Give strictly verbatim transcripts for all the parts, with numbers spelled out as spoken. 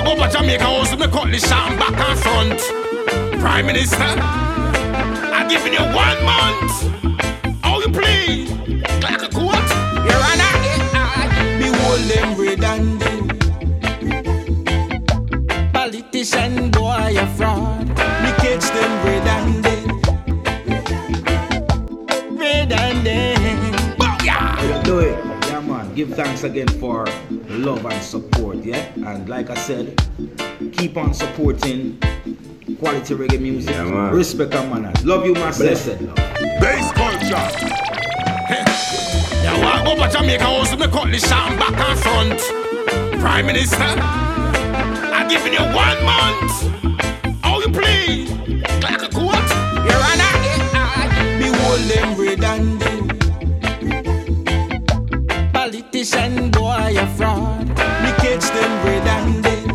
go to Jamaica house with me cutlass and back and front. Prime Minister, I'm giving you one month. How you play? Like a court? You're an eye. Me hold them redundant. Politician boy a fraud. Me catch them redundant. Redundant. Booyah! You do it. Yeah, man. Give thanks again for love and support, yeah? And like I said, keep on supporting quality reggae music. Yeah, man. Respect and manners. Love you, my blessed love. Bass culture. Yeah, walk over Jamaica house with me cutlass and back and front. Prime Minister, I'm giving you one month. How you play? Like a court? You're an eye. Me hold them redundant. Politician boy a fraud. Me catch them redundant.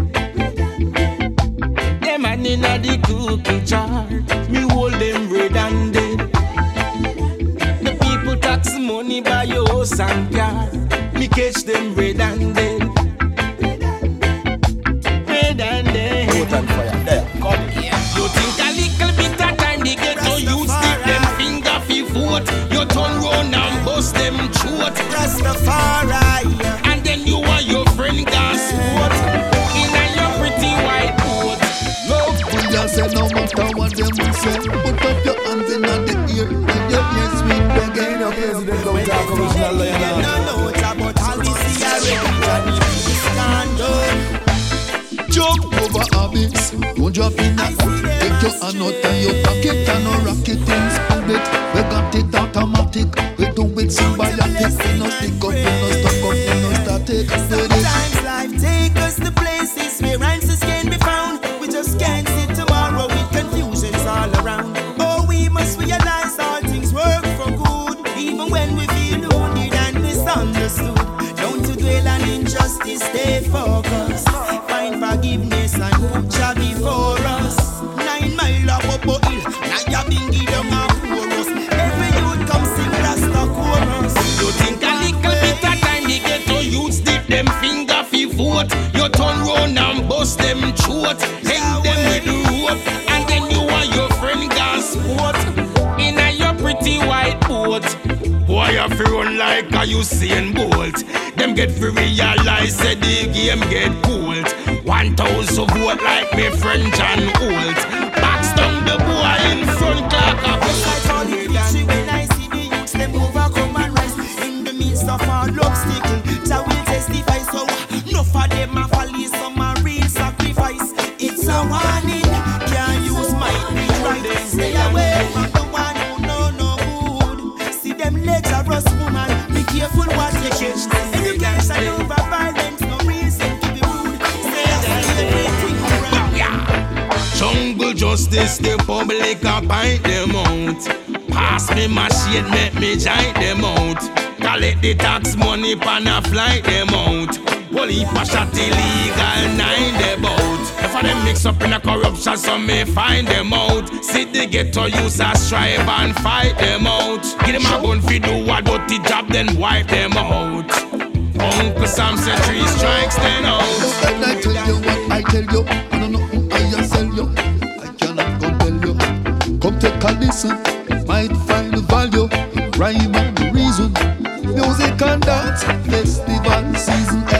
Them man inna the cookie jar. Me hold them redundant. The people tax money by your house and car. Me catch them redundant. Redundant. Put on fire. There. Come. You think a little bit of time they get to use stick them finger fi vote. You turn round and bust them throat. Rastafari. And then you and your friend gas what? In a your pretty white boat. Love, we just say no matter what them will say. Put up your hands in the ear and your ear sweet reggae. You know, President don't talk original lion. You don't know it's about all this here reggae. Jump over habits, don't drop in that. Take your hand out and your pocket and no rocket things. Spend it, we got it automatic. We do it symbiotic. We no stick up, we no stuck up, we no static. Sometimes life take us to places where answers can be found. We just can't sit tomorrow with confusions all around. Oh, we must realize all things work for good, even when we feel wounded and misunderstood. Don't to dwell on injustice, stay focused. Find forgiveness and put Jah before us. Nine mile up up hill, now you been give them a chorus. Every youth come sing Rasta chorus. You think a little bit of time they get to use dip them finger fi vote. You turn round and bust them throat. Hang them with the rope. And then you and your friend gas sport. In a your pretty white boat. Boy, you fi run like a Usain Bolt. Them get fi realize say the game get cold. One thousand vote like me friend John Holt. Backs down the boy in front like a I call it victory when I see the youths them overcome and rise. In the midst of all obstacle, Jah will testify. So enough of them a fall, some a real sacrifice. It's a warning, can't use might be right. Stay away from the one who know no good. See them lecherous woman, be careful what you catch. Education over violence, no reason to be rude. Say everything around. Jungle justice, the public a bite them out. Pass me my shit, make me giant them out. Collect the tax money, pan a flight them out. Police a shot illegal, nine them out. If I them mix up in a corruption, some may find them out. See the ghetto use a strive and fight them out. Give them a gun fi do what dirty job, then wipe them out. Uncle Sam said three strikes, then out. When I tell you what I tell you, I don't know who I just sell you. I cannot compel you. Come take a listen, might find the value, rhyme and reason. Music and dance, festival season. Eh?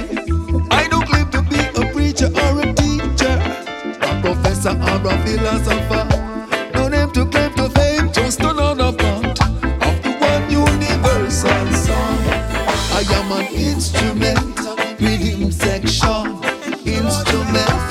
I don't claim to be a preacher or a teacher, a professor or a philosopher. No name to claim to fame, just another part of the one universal song. I am an instrument, rhythm section, instrument,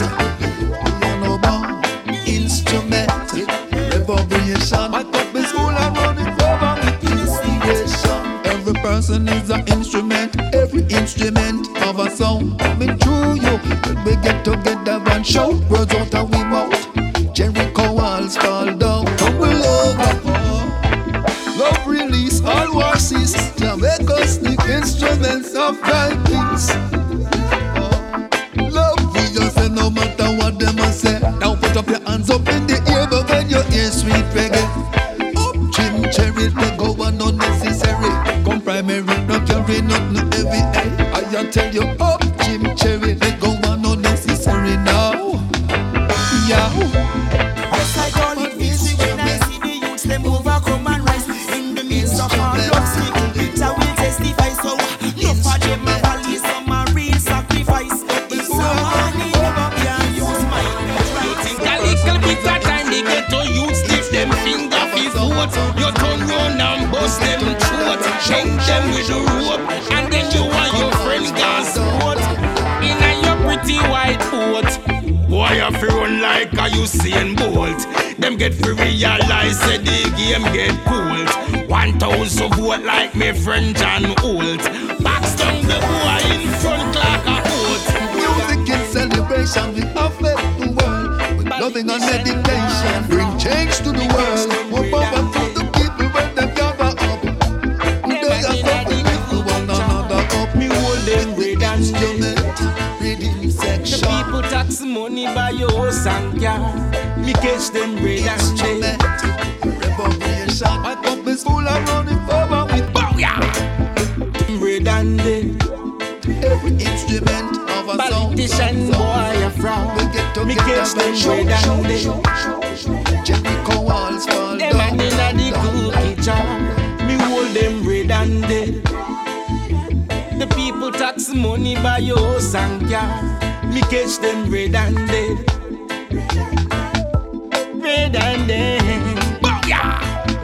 piano bar, instrument, reverberation. My cup is full and running over with inspiration. Every person is an instrument, every instrument of a song coming through you. When we get together and shout words out of we mouth, Jericho walls fall down, and we love up. Love release all war cease. Jamaica sneak instruments of thy peace. Love we just say no matter what them a say. Now put up your hands up in the air, but when you hear sweet reggae, up Jim Cherry, they go on unnecessary. Come primary, no carry nothing heavy. I tell you, up Jim Cherry, they go on unnecessary. a Usain Bolt. Them get free realize that the game get cooled. One thousand vote like me friend John Holt. Box down the boy in front like a boat. Music in celebration, we affect the world. With loving and meditation, bring change to the world. More power to the people when they gather up. They are coming with one another up. Me hold them red and instrument, reading section. the people tax money by your house and car. Me catch them red and Instrument, revolution. My cup is full of running forward with booyah. Red and dead. every instrument of a song. Politician boy a frown. We get Me together catch them and show, red show, and show, dead. show, show. Jericho walls fall Them down. and inna the cookie jar. Me hold them red and dead. The people tax money by your house and car. Me catch them red and dead. Red and dead. Booyah!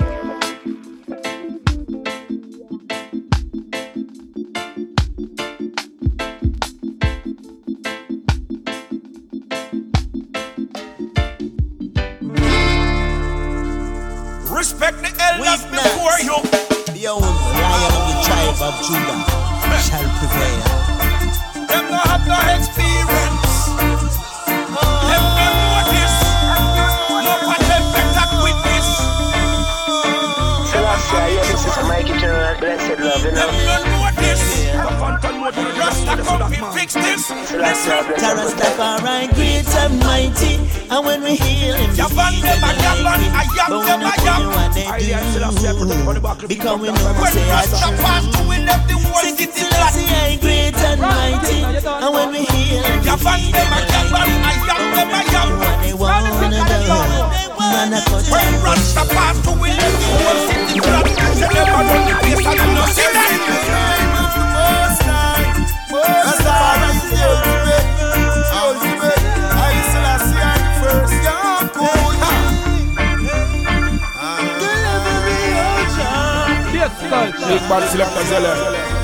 Respect the elders before you. The old lion of the tribe of Judah shall prevail. Them no have no experience. Them no know this. No for them better witness. This is Mikey General, blessed love, you Them know. no know this. Rasta come to fix this. Listen. Rastafari great and mighty, and when we heal him, Yaban them a yaban, a yam but we them a not yam. know what they do, because we know When say I Rasta pass true. to we left the whole Say city flat. Selassie great and mighty, and when we heal him, Yaban them a yaban, a yam them a yam. what they wanna do, man a cut When and Rasta pass to we left the whole city flat. Say them a run the place and you no see that. Rastafari is the ultimate, ultimate. I Selassie am the first. Yeah, cool. Big bad selector Zelle.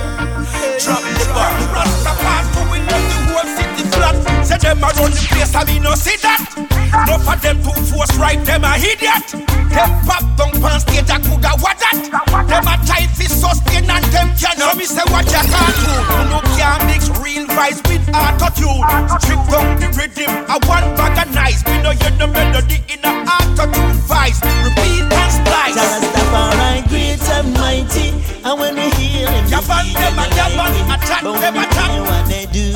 Drop the bar. Rasta pass to we left the whole city flat. Say them a run the place and me no see that. No for them to force right, them a idiot. Them pop down pan stage a cougar what that. Them a try fi sustain and them can. So me say what you can't do. You no can mix real vibes with auto-tune. Strip down the rhythm, a one bag of nice. Me no hear the melody in a auto-tune vice. Repeat and splice. Rastafari great and mighty, and when we heal him, Yaban them a yaban, attack but we them not attack. know what they do,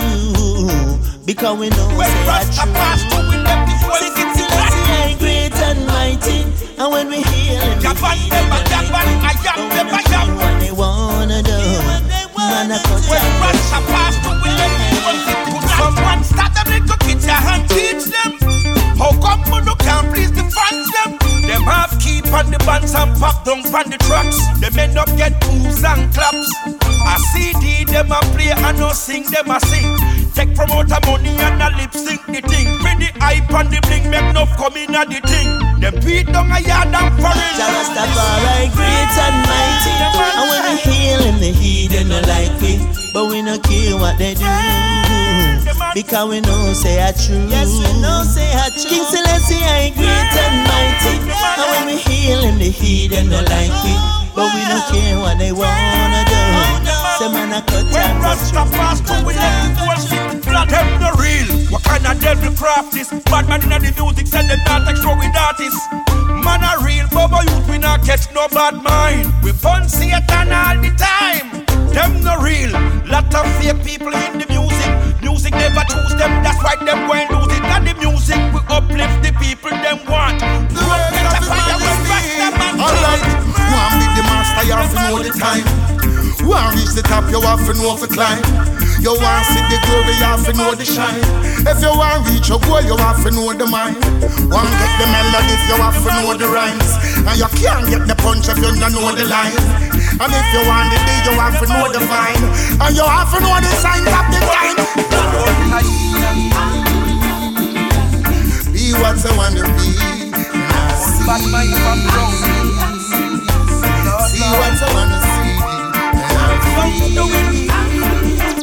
because we know When say I Rasta pass to true. we left the whole Say city flat. Selassie great and mighty, and when we heal him, Yaban them a yaban, a yam them a yam. what they wanna do, man a cut When and Rasta pass to we left the whole city flat. Someone start them little kids and teach them. How come you no can't please the fans them? Them half keep on the bands and pop down on the tracks. Them end up get boos and claps. A C D them a play and no sing them a sing. Take promoter money and a lip sync the thing. Bring the hype and the bling make enough come in at the thing. Them beat down a yard and foreign. Rastafari great and mighty, and when we heal him, the heathen no like we, but we no care what they do, because we know say I true. Yes, we know say I true. King Selassie I great and mighty, and when we heal him, the heathen no like we, but we no care what they wanna do. Say man a cut When and Rasta pass to we left the whole city flat. Them no real. What kind of devil craft this? Bad man inna the music send them not take show with artists. Man a real, Bobo youth we not catch no bad mind. We fun Satan all the time. Them no real. Lot of fake people in the music. Music never choose them. That's why them going lose it. And the music we uplift the people them want. Road get a fire when Rasta man. Alright, one be the master, you have to know the time. One reach the top, you have to know to climb. You want see the glory, you have to know the shine. If you want reach your goal, you have to know the mind. One get the melodies, you have to know the rhymes. And you can't get the punch if you don't know the line. And if you want the day, you have to know the vine. And you have to know the signs of the time. Be what you want to be. Bad mind from wrong. See what you want to see.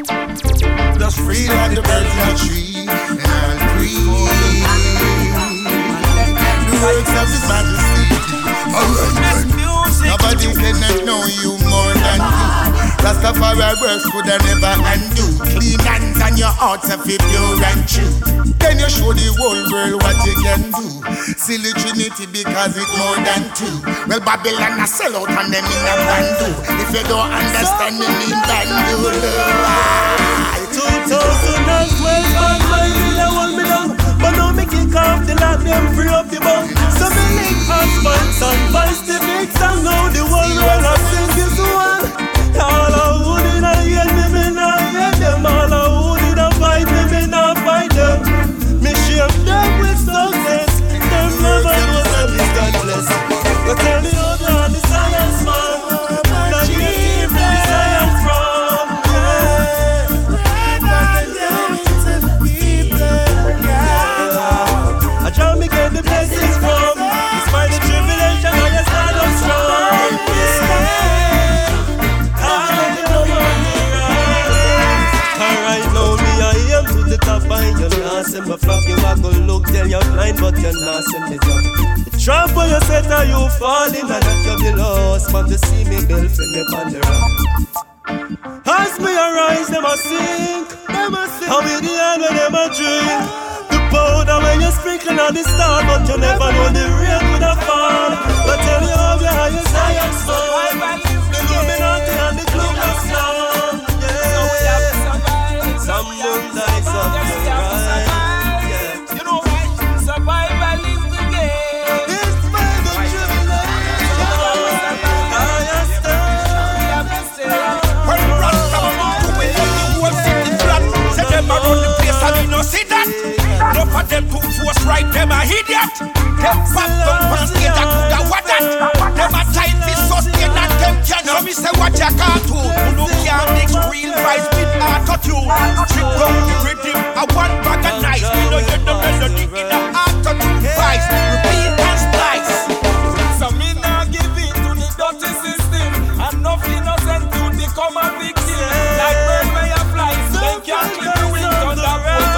Just free like the birds in the tree, and I'll breathe. Rastafari works could I never undo. Clean hands and your heart if you pure and true. Then you show the whole world what you can do. Silly Trinity because it's more than two. Well, Babylon a sell out and them in a bandu. If you don't understand me, mean bandu. two thousand twelve, bad mind will I hold me down. But now me kick off the lock, them free up the bum. So me link husbands and vice the mix. And now the whole world I sing this one. All I who did I hate me, me not hate them. All I who did I fight me, me not fight them. Me shame them with success. Them never know that it's God bless. But tell me how they are the science man. That you keep the science from. I try me get the blessings from. Despite the tribulation, I just stand up strong. Alright, now me I am to the top and you're not see me flop. You a go look, tell you're blind, but you're not see me drop. The trap for you set are you falling, and that you're the lost man to see me build from me on the rock. As me arise, them a sink, them a sink. How we the hand when them a drink. The powder when you sprinkle on the star, but you never know the rain would have fall. But tell you how you how you science man. The Illuminati and the club of song. Some moon die, some moon rise. Yeah. You know why? Survival is the game. It's by the tribulation. I understand. When Rasta to win up the whole city flat, say them around the place and you no see that. Enough of them two force right, them a idiot. Them pop down from stage and do the what that. Them a tight fist sustain and them can. So me say what you cartoon. You no can't mix real vibes with auto-tune. Strip down the rhythm, a one bag of nice. We know you the melody in the auto-tune vibes. Repeat and splice. So me nah give in to the dirty system. And nothing innocent to become a victim. Like bird may a fly, they can't clip the wings on the road.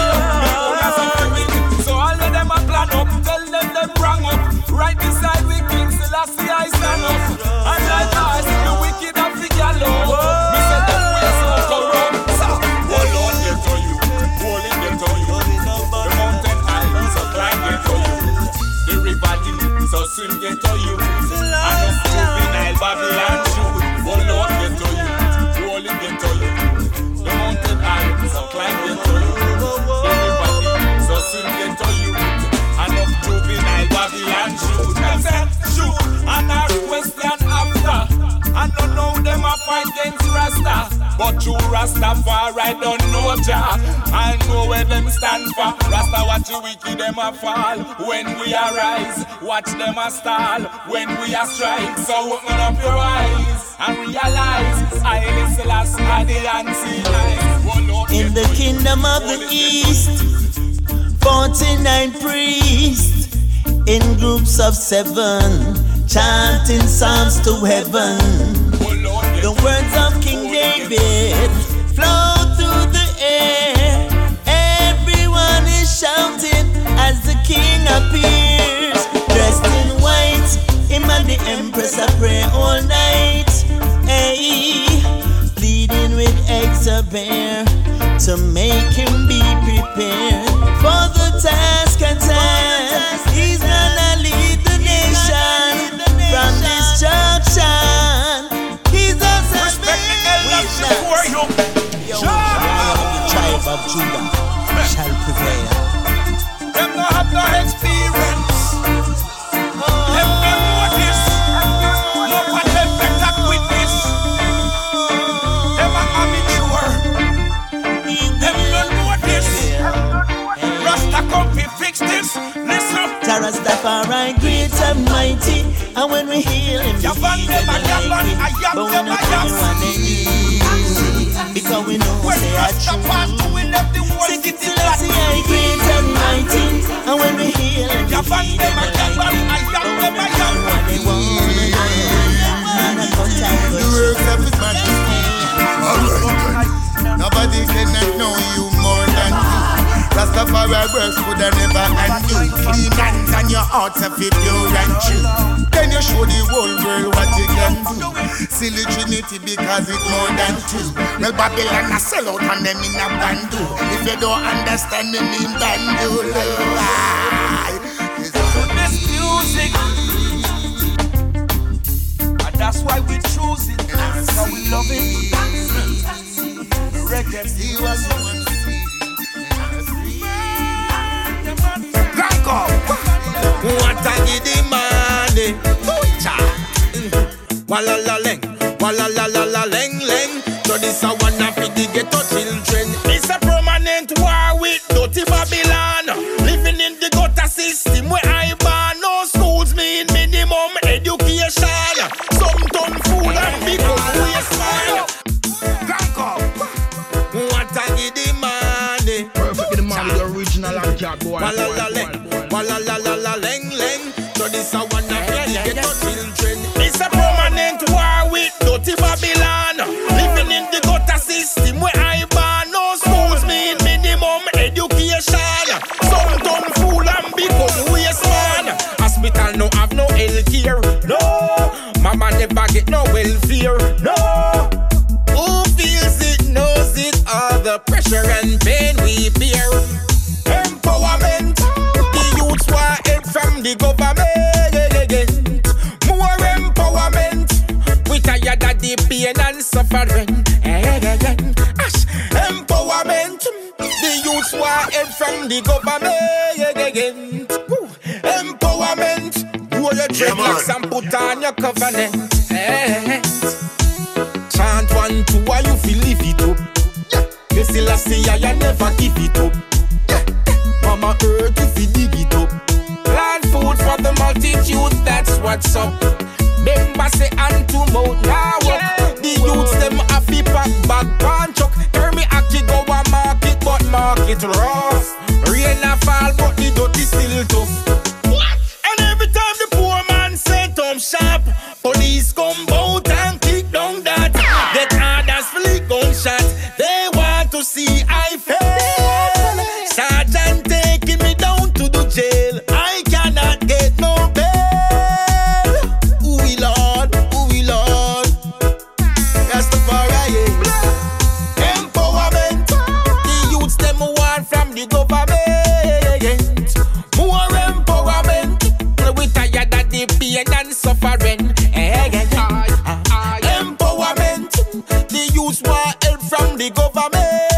So all of them a plan up, tell them them wrong up. Right beside we King Selassie I stand up. And like us, the wicked have the gallows. Me say them ways so corrupt. Hold on, get to you, hold it, get to you. The mountain high, so climb, get to you. The river deep, so swim, get to you. And the juvenile Babylon shoot. Hold on, get to you, hold it, get to you. The mountain high, so climb, get to you. The river deep, so swim, get to you. And the juvenile Babylon shoot. Them say shoot, and ask question after. I don't know them a fight against Rasta. But you Rastafari don't know Jah. I know where them stand for. Rasta watch the wicked them a fall. When we arise, watch them a stall. When we a strike, so open up your eyes and realize I listen last at the answer. In the kingdom of the east, forty-nine priests in groups of seven, chanting psalms to heaven. The words of King David flow through the air. Everyone is shouting as the king appears. Dressed in white, him and the empress a pray all night. Hey, pleading with Exabear to make him be prepared for the task at hand. He's gonna lead the nation from destruction. He's a salvation. Yo, the tribe of Judah shall prevail. Them no have no experience. Them no know this. No for them better witness. Them a amateur. Them no know this. Rasta come fi fix this. Listen. Rastafari great and mighty, and when we heal him, we heal them like him. But we not everyone they need, because we know they are true. Sing it till I see I great and mighty, and when we heal him, we heal them like him. But we not everyone they want. And I come time for you. Alright, nobody cannot know you more than you. Rastafari works could never undo. Clean hands and your heart if you pure and true. Then you show the whole world what you can do. Silly Trinity because it's more than two. Well, Babylon a sell out and them in a bandu. If you don't understand me, mean bandu. This music, and that's why we choose it. So we love it. Reggae. He was one. What I need the money. Walla la leng, walla la la la leng leng. So this a one of the ghetto children. It's a permanent war with dirty Babylon. Living in the gutter system where I ban. No schools mean minimum education. Some ton food and become waste man. What I need the money. Perfect the money, the original and cat boy. Walla la leng, walla la la la leng leng. So this a one of the ghetto children. It's a permanent war with dirty Babylon. Living in the gutter system where I ban. No schools mean minimum education. Some done fool and become waste man. Hospital no have no health care. No, mama never get no welfare. No, who feels it knows it. All the pressure and pain we bear. Empowerment, the youths want help from the government. More empowerment, we tired of the pain and suffering. Ash, empowerment, the youths want help from the government. Empowerment, grow your dreadlocks and put on your covenant. Chant one, two, why you feel live it up. You still a say I never give it up. Mama earth if you dig it up. Plant food for the multitude, that's what's up. Member say and to mouth now up. The youths them a fi pack bag pan chuck. Turn me aki go a market but market rough. Rain a fall but the dirty still tough. And every time the poor man set up shop, police come out and kick down that. Get others flick gunshot. They want to see I fail. Sergeant taking me down to the jail. I cannot get no bail. Ooh, we Lord, ooh, we Lord. Rastafari. Empowerment. The youths them want from the government. More empowerment. We tired of the pain and suffering. Empowerment. The youths want help from the government.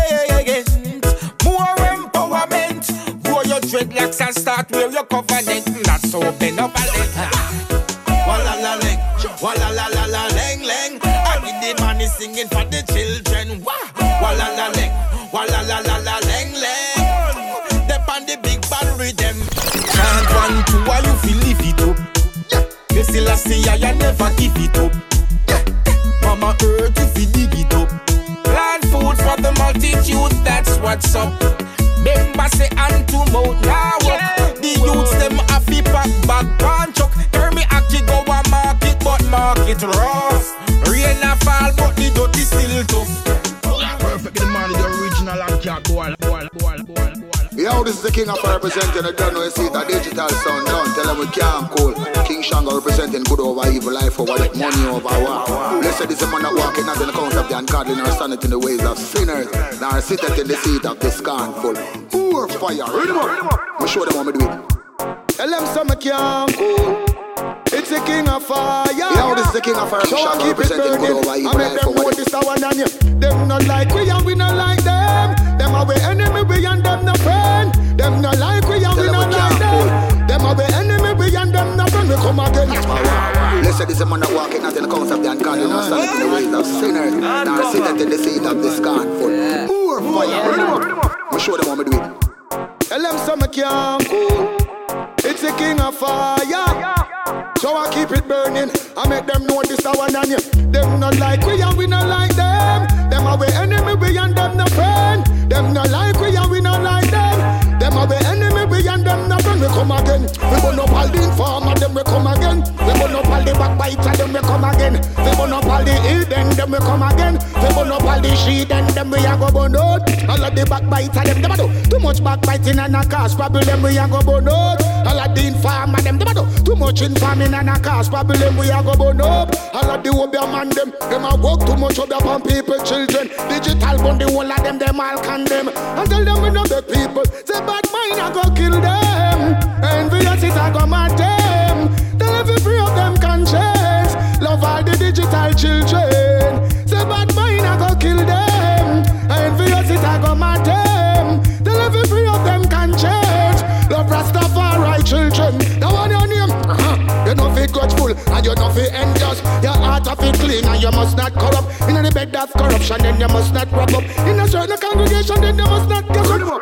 Dreadlocks and start wear your covenant. That's so benevolent. Walla la leng, walla la la la leng leng. I need the money singing for the children. Walla la leng, walla la la la leng leng. Dep on the big bad rhythm. Can't one two, why you feel live it up? You still a say I never give it up. Mama earth if you dig it up. Plant food for the multitude, that's what's up. Member say and to mouth now up. The youths them a fi pack bag pan chuck. Turn me aki go a market but market rough. Rain a fall but the dirty still tough. Perfect the money, the original and cat boy. Yo, this is the King of representing. I don't know you see that digital sound down. Tell them we can't call. King Shango representing good over evil, life over death, money over war. Blessed is the man that walking not in the count of the ungodly, nor standeth in the ways of sinners, nor sitteth in the seat of the scornful. Pour fire, read them up. I'll show them how me do it. Tell them some can't call. It's the King of fire. Yo, this is the King of fire. So King Shango representing good over evil, life over death. This our name. Them not like we and we not like them. Them are we enemy, we and them no friend. Them not like we and we not like them. Them are we enemy, we and them no friend. We come again. Blessed is the man that walking not in the count of the ungodly, nor standeth in the ways of sinners, nor sitteth in the seat of the scornful. Pour fire, read them up. I'll show them how me do it. Tell them some can't call. It's the King of fire. So I keep it burning. I make them know this our name. Them not like we and we not like them. Them are we enemy, we and them no friend. Them not like we and we not like them. Them are we enemy, we and them no friend. We come again. We burn up all the informer, them we come again. We burn up all the backbiter, them then we come again. We burn up all the hill, then them we come again. We burn up all the sheet, then them we a go burn out. All of the backbiter, them them a do too much backbiting and a cause problem. We a go burn out. All of the informer, them them a do too much informing and a cause problem. We a go burn up. All of the obia man, them them a work too much obia on people, children. Digital bun the whole of them, them all condemn. And tell them we know the people. Say bad mind a go kill them. Envious is a go mad them. Tell every free of them conscience. Love all the digital children. Say bad mind a go kill them. Envious is a go mad them. Tell every free of them conscience. Love Rastafari children. That one your name. Uh-huh. You know fit grudgeful and you know fit envious. Your heart of it clean and you must not corrupt. In the bed of corruption then you must not rub up. In a certain congregation then you must not get rid of.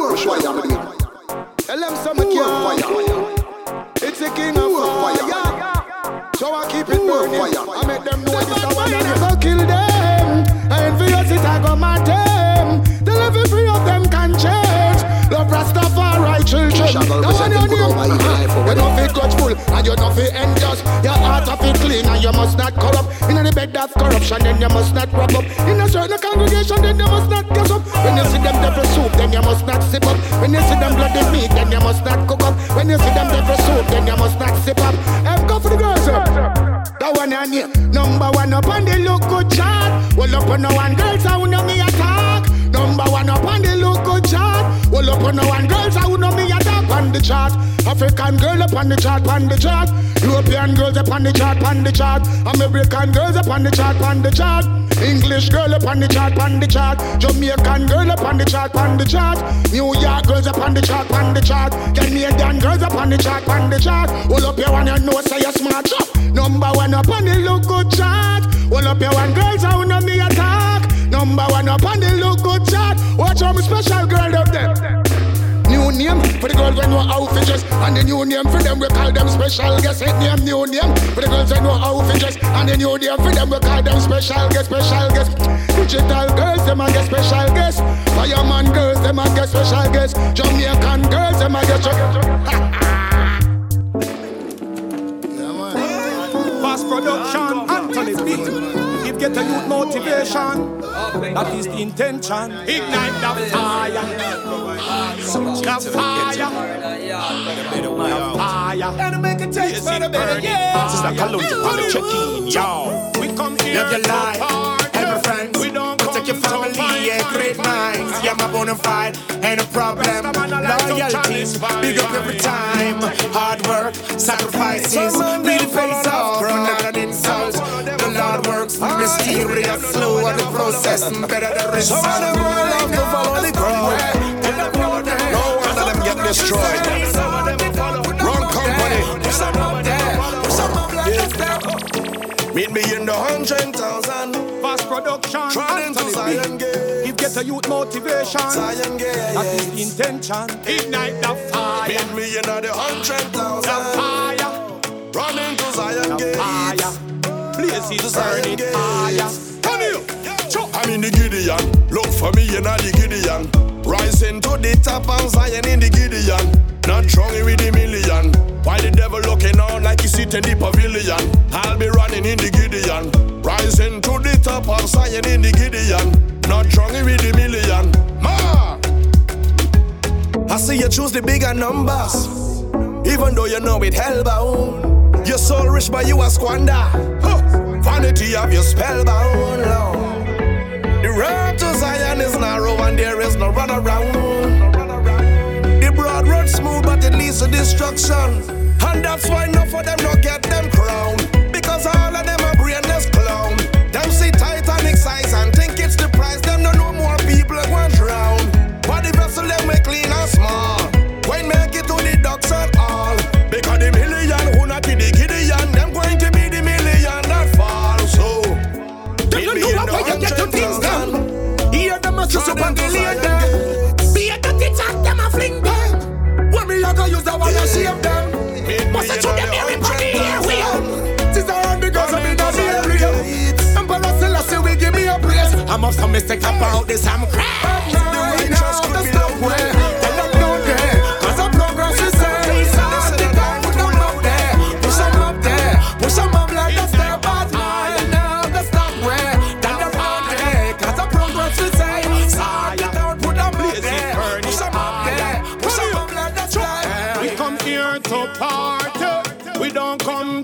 Tell them some fire. It's the king of fire. So I keep it burning. I make them know this is one I go kill them. Envious it I go mad them. Tell every free of them can change. Love Rastafari children. That's what your name. You don't feel grudgeful and you don't feel envious. Your heart of it clean and you must not corrupt. In the bed of corruption then you must not rub up. In a certain congregation then you must not get up. When you see them devil soup then you must not sip up. When you see them bloody meat then you must not cook up. When you see them devil soup then you must not sip up. Have go for the girls up. That one and you number one up on the look good chart. Well up on no one girls I know me attack. Number one up on the look good chart. Well up on no one girls I know me attack on the chart. African girl up on the chart, on the chart. European girls up on the chart, on the chart. American girls up on the chart, on the chart. English girl up on the chart, on the chart. Jamaican girl up on the chart, on the chart. New York girls up on the chart, on the chart. Canadian girls up on the chart, on the chart. Hold up your one and know say you're smart. Number one up on the look good chart. Hold up your one girls I know me attack. Number one up on the look good chart. Watch how my special girl up there. New name for the girls that know how to dress. And the new name for them we call them special guest. Hit name, new name for the girls that know how to dress. And the new name for them we call them special guest, special guest. Digital girls, them a get special guest. Fireman girls, them a get special guest. Jamaican girls, them a get Fast production, Anthony B. Give get a youth motivation. That is the intention. Ignite the fire. The fire. The fire. And make a taste for the better, yeah. This is like a load to check in, yo. We come here. Live your life, and my friends. We don't protect your family, yeah, great minds. Yeah, my bona fide, ain't a problem. Loyalty, big up every time. Hard work, sacrifices, really pays off. Grown out an insult. The Lord works mysterious, slow on the process, better the result. Some of them love to follow the crowd. No one of them get destroyed. Wrong company. Meet me in the hundred thousand. Fast production. Trying to Zion Gate. Give get a youth motivation. Zion Gate. That is the intention. Ignite the fire. Meet me in the hundred thousand. The fire. Running to Zion Gate. Fire. Places burning fire. Come here. I'm in the Gideon. Look for me in the Gideon. Rising to the top and Zion in the Gideon. Not strong with the million. While the devil looking on like he sit in the pavilion. I'll be running in the Gideon. Rising to the top of Zion in the Gideon. Not strong with the million. Ma! I see you choose the bigger numbers. Even though you know it hellbound. You're so rich but you a squander. Huh. Vanity of your spellbound. Lord. The road to Zion is narrow and there is no run around. The broad road smooth but it leads to destruction. And that's why enough of them don't get them crown. Because all of them are brainless clown. Them see Titanic size and think it's the price. Them don't know more people are going drown. But the vessel them make clean and small. When make it to the docks and all. Because the million who not in the Gideon, them going to be the million that fall. So they don't know how you get to things done. Hear them as you up and delay them. Be a dirty chat, them a fling them. When me a go use the one to save them. Must I show them everybody here we are. Sister and because I'm in the area. Emperor Selassie will give me a praise. I'm off some mistake about this, I'm crap. The righteous could be low way. Tell them down there, cause the progress is there. Push them up there, push them up there. Push them up like a step.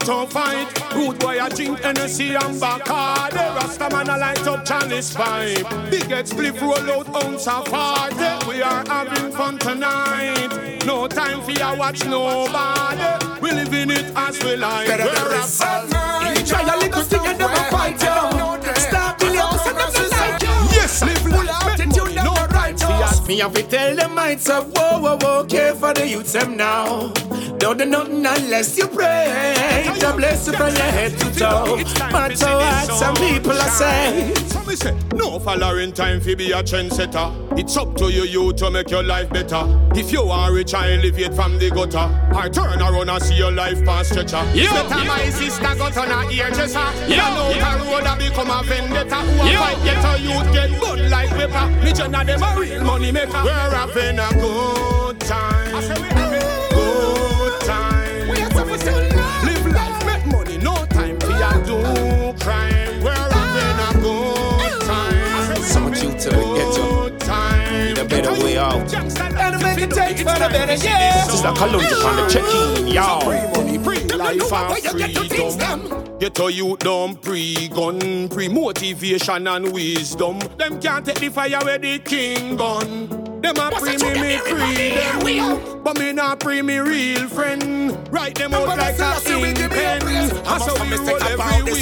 to fight. Rude boy I drink Hennessy and Bacardi. Rasta man I light up Chalice vibe. Big head split roll out ounce of party. We are having fun tonight. No time for ya watch nobody. We living it as we like. We're a bad night. Try a little thing and never fight you. Stop the house and never like you. Yes, live life, make money, no right. Me have to tell them minds up, whoa, whoa, whoa, care for the youths them now. Don't do nothing unless you pray. The blessing from your head to toe. Matter what some people are saying. So me say, no following time fi be a trendsetter. It's up to you, you to make your life better. If you are rich and elevate from the gutter, I turn around and see your life pass stretcher. Yeah, better my sister got on a ear dresser. Yeah, no the road a become a vendetta. Who a fight get a youth get bun like pepper. Me join them a real money maker. We're having a good time. I say we having good time. We are having live life, make money, no time for ya do crime. We're having a good time. So much you to the ghetto. Need a better way out. And make it take for the better, yeah. Just like Columbia on the check-in, y'all. Free money, free life and freedom. Get a youth down, pre-gun, pre-motivation and wisdom. Them can't take the fire where the king gone. Them a pre me, me free them. But me not pre me real friend. Write them out like a ink pen. That's how we roll everywhere.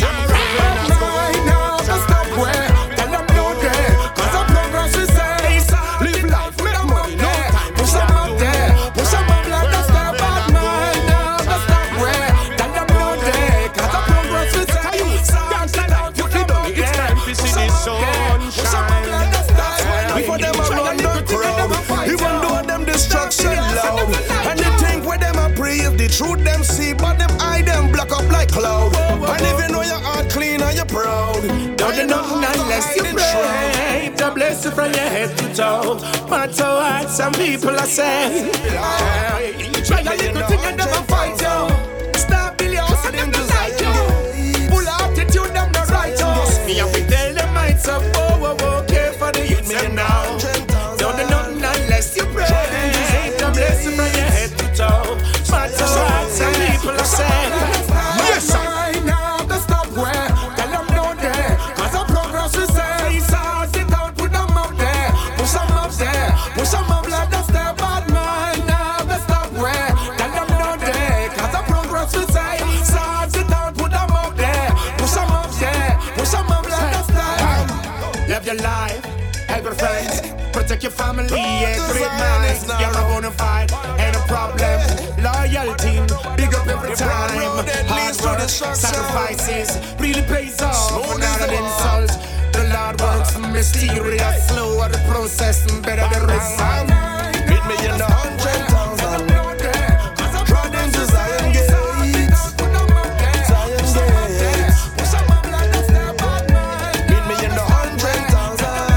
Right now, just stop where. Tell them no day. Cause I'm progress we say. Live life, make money, no time. Push them up there. Push them up like that's their bad mind. Now, just stop where. Tell them no day. Cause I'm progress we say. Dance like life, you keep on it. It's time to see the sunshine. Before them a run the crowd, even though them destruction loud. And they think where them a pray if the truth them see, but them eye them block up like cloud. And even though your heart clean and you're proud, don't you nothing unless you pray. The blessing from your head to toe. Matter what some people are saying. Try a little thing and never fight you. Stop billions and them just like you. Full attitude them not right you. Me have to tell them minds up, whoa, whoa, whoa, care for the youth them now. Don't do nothing unless you pray. The blessing from your head to toe. Matter what some people are saying. Yes, sir. Right now, the stop where. Tell them no there. Cause the progress we say. Sort it out, put them out there. Push them up there. Push them up like that's their bad mind. Now, the stop where. Tell them no there. Cause the progress we say. Sort it out, put them out there. Push them up there. Push them up like that's their. Live your life. Help your friends, protect your family, yeah, great manners. You're a bona fide, ain't a problem. Loyalty, big up every time. Hard work, sacrifices, really pays off. Not an insult. The Lord works mysterious, slower the process, better the result. Hit me in the hundred thousand. Trodden to Zion gates. Zion gates. Hit me in the hundred thousand.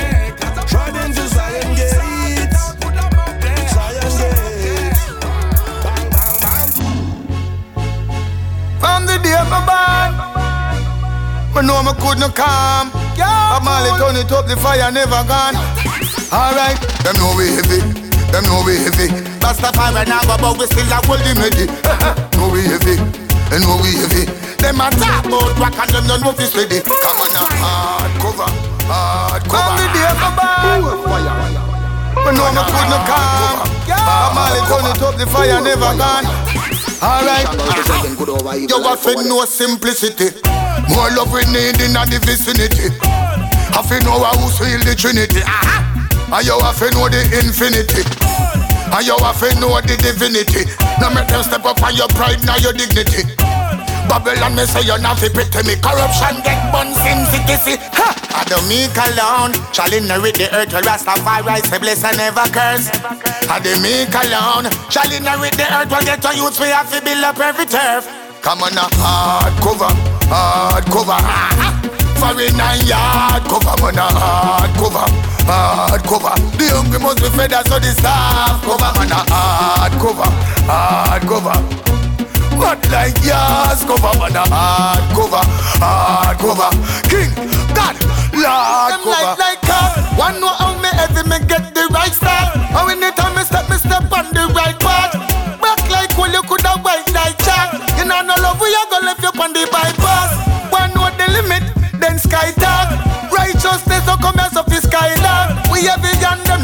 From the day of my born, I know I could not come. But Marley turn it up, the fire never gone. Alright, them know we heavy, them know we heavy. Rastafari now go, but we still a hold him ready. Know we heavy, they know we heavy. Them a talk about rock and them don't know this ready. Come on now, hard cover, hard cover. From the day of my born, I know I could not come. But Marley turn it up, the fire never gone. Alright, you got to know simplicity. More love we need in the vicinity. Have to know how to heal the Trinity. And you have to know the infinity. And you have to know the divinity. Now make them step up on your pride, now your dignity. Babylon, me say you're not fit to me. Corruption get buns in city. I don't make alone. Shall inherit the earth. Will Rastafari say bless and never curse. I don't make alone. Shall inherit the earth. Will get to youth. We have to build up every turf. Come on a hard cover, hard cover. Foreign and yard cover, man a hard cover, hard cover. The hungry must be fed, so the staff cover, man a hard cover, hard cover. But like yours cover, man a hard cover, hard cover. King, God, Lord them cover. Like like God, one know how me heavy me get the right start. How anytime me step, me step on the right path. Back like well you coulda white like Jack. You know no love we a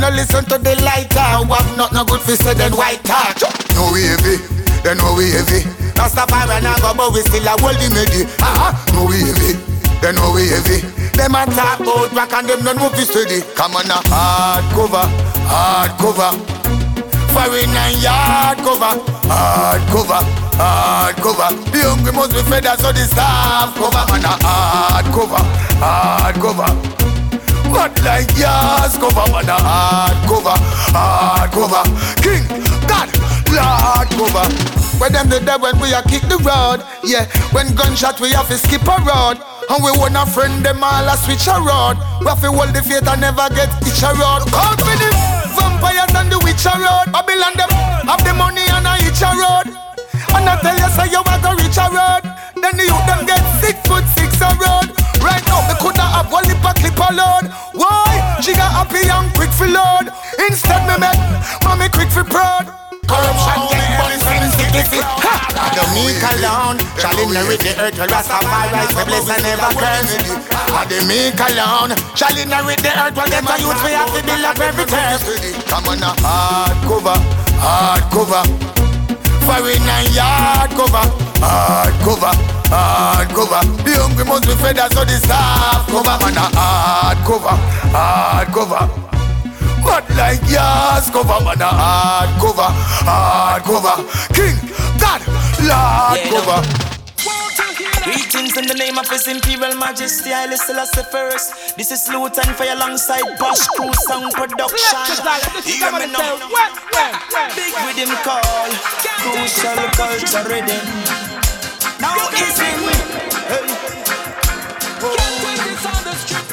no listen to the lighter. Have not no good for say then white talk. No we heavy, they know we heavy. Rastafari and I go but we still a hold the medi. Aha, no we heavy, they know we heavy. Them a talk about back and them no move steady. Come on a hard cover, hard cover. Foreign and yard cover, hard cover, hard cover. The hungry must be fed, so the staff cover. Man a hard cover, hard cover. But like yours cover, man a hard cover, hard cover. King, God, Lord cover. When them the dead when we a kick the road. Yeah, when gunshot we have to skip a road. And we want a friend them all a switch a road. We have to hold the faith and never get each a road. Count with the vampires and the witch a road. Babylon them have the money and a each a road. And I tell you say you want to reach a road. Then the youth them get six foot six a road. Right now they coulda have one lip a clip a load. Why? She got happy and quick for load. Instead me make mommy quick for proud. Corruption get money from sticky. I don't need alone. Shall inherit the earth where Rastafari we bless and never curse. I don't need alone. Shall inherit the earth where get a youth we have to build up every turf. Come on a hard cover, hard cover. Foreign and yard cover, hard cover, hard cover. The hungry must be fed, so the staff cover. Man a hard cover, hard cover. But like yours cover, man a hard cover, hard cover. King, God, Lord yeah, cover. Greetings in the name of His Imperial Majesty, Haile Selassie first. This is Lutan for alongside Bosch Crew Sound Production. Hear me now. Big rhythm call, crucial culture rhythm. Now is in. Hey. Can't take this on the street.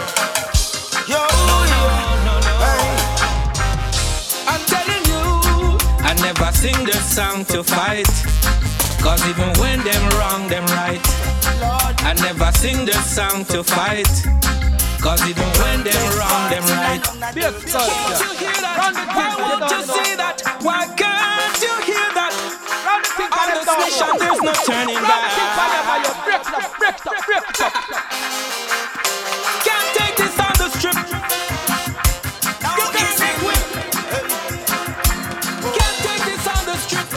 Yo, yo, hey. I'm telling you, I never sing the song to fight. Cause even when them wrong, them right. I never sing the song to fight. Cause even when them wrong, them right. Can't you hear that? Why won't you see that? Why can't you hear that? On this mission there's no turning back. Can't take this on the strip. Can't take this on the strip.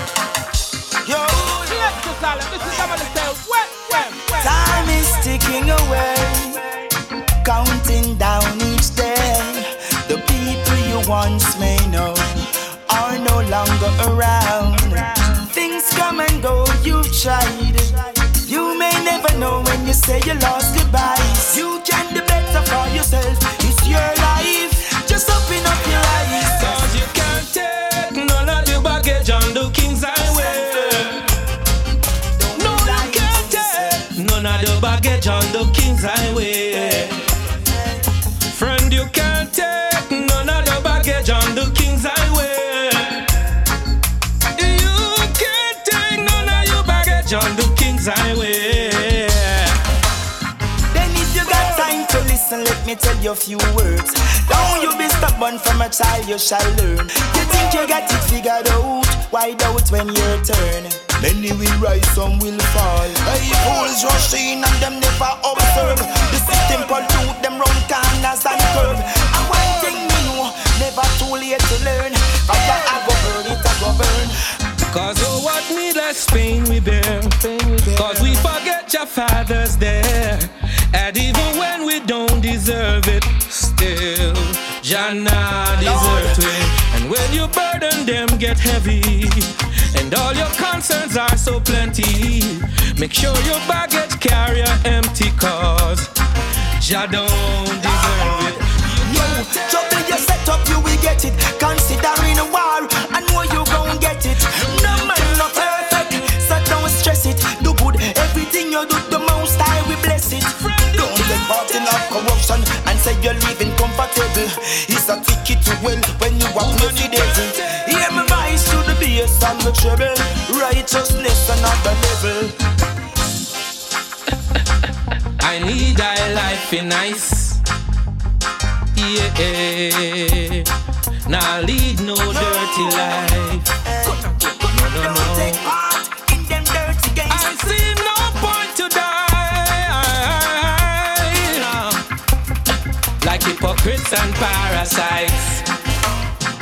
Time is ticking away, counting down each day. The people you once may know are no longer around. Things come and go, you've tried. You may never know when you say you lost goodbyes. You can do better for yourself, it's your life. Just open up your eyes. Cause you can't take none of the baggage on the King's Highway. None of the baggage on the King's Highway. Friend, you can't take none of the baggage on the King's Highway. You can't take none of your baggage on the King's Highway. Then if you got time to listen, let me tell you a few words. Don't you be stubborn, from a child you shall learn. You think you got it figured out, why doubt when your turn? Many will rise, some will fall. Hey, fools rush in and them never observe. The system pollute them round corners and curve. And one thing me know, never too late to learn. Fire I go burn, it I go burn. Cause oh what needless pain we bear. Cause we forget your father's there. And even when we don't deserve it, still Jannah deserves it. And when your burden them get heavy, and all your concerns are so plenty, make sure your baggage carrier empty, cause Jah don't deserve it. Yo, trouble you set up, you will get it. Considering a war, I know you gon' get it. No man not perfect, so don't stress it. Do good, everything you do, the most I will bless it. Don't take part in of corruption and say you're living comfortable. It's a ticket to well when you are president. Hear my voice to the bass and the treble. Righteousness another level. I need thy life in nice. Yeah, now lead no dirty life. No, no, no. I see no point to die, like hypocrites and parasites.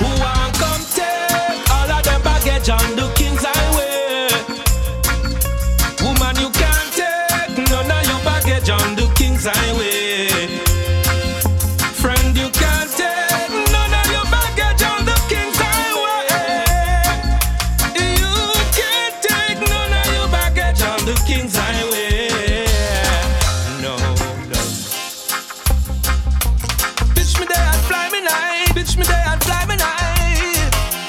Who want come take all of them baggage on the King's Highway? Woman, you can't take none of your baggage on the King's Highway. Friend, you can't take none of your baggage on the King's Highway. You can't take none of your baggage on the King's Highway. No, no. Bitch me there and fly me night. Bitch me there and fly me night.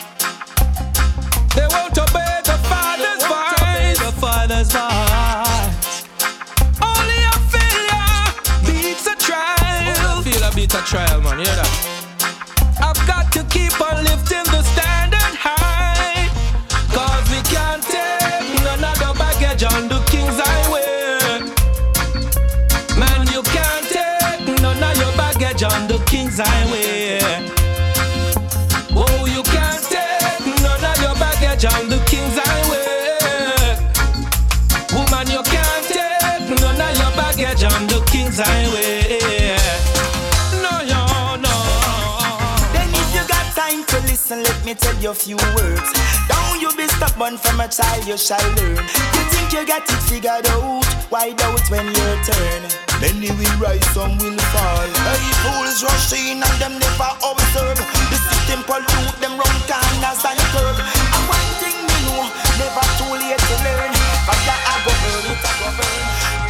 They won't obey the Father's voice. The Father's voice. Only a failure beats a trial. Feel a beat a trial, man. Hear that? I've got to keep on lifting the standard high. Cause we can't take none of the baggage on the King's Highway. Man, you can't take none of your baggage on the King's Highway. Oh, you can't take none of your baggage on the King's Highway. Woman, you can't take none of your baggage on the King's Highway. No, no, no. Then if you got time to listen, let me tell you a few words. Don't you be stubborn, from a child you shall learn. You think you got it figured out, why doubt when your turn? Many will rise, some will fall. Hey, fools rush in and them never observe. The system pollute them round corners and curve. And one thing me know, never too late to learn. But that I go burn, it I go burn.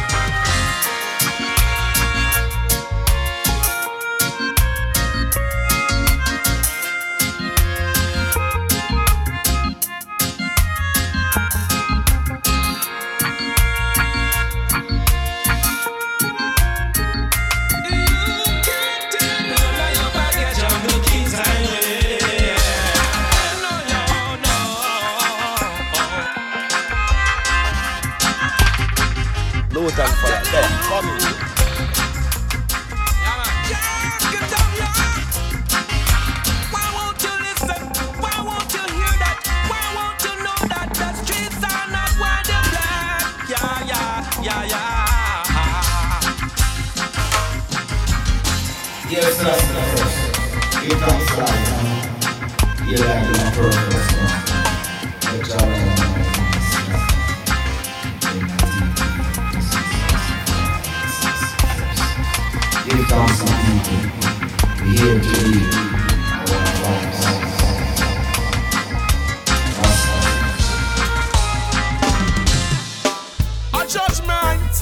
Lutan for that. Then, come in. Why won't you listen? Why won't you hear that? Why won't you know that the streets are not where they're black? Yeah, yeah, yeah, yeah. Yes, that's the first. It comes like, you like the purpose. The job Here comes some people, we here to lead our lives. A judgment.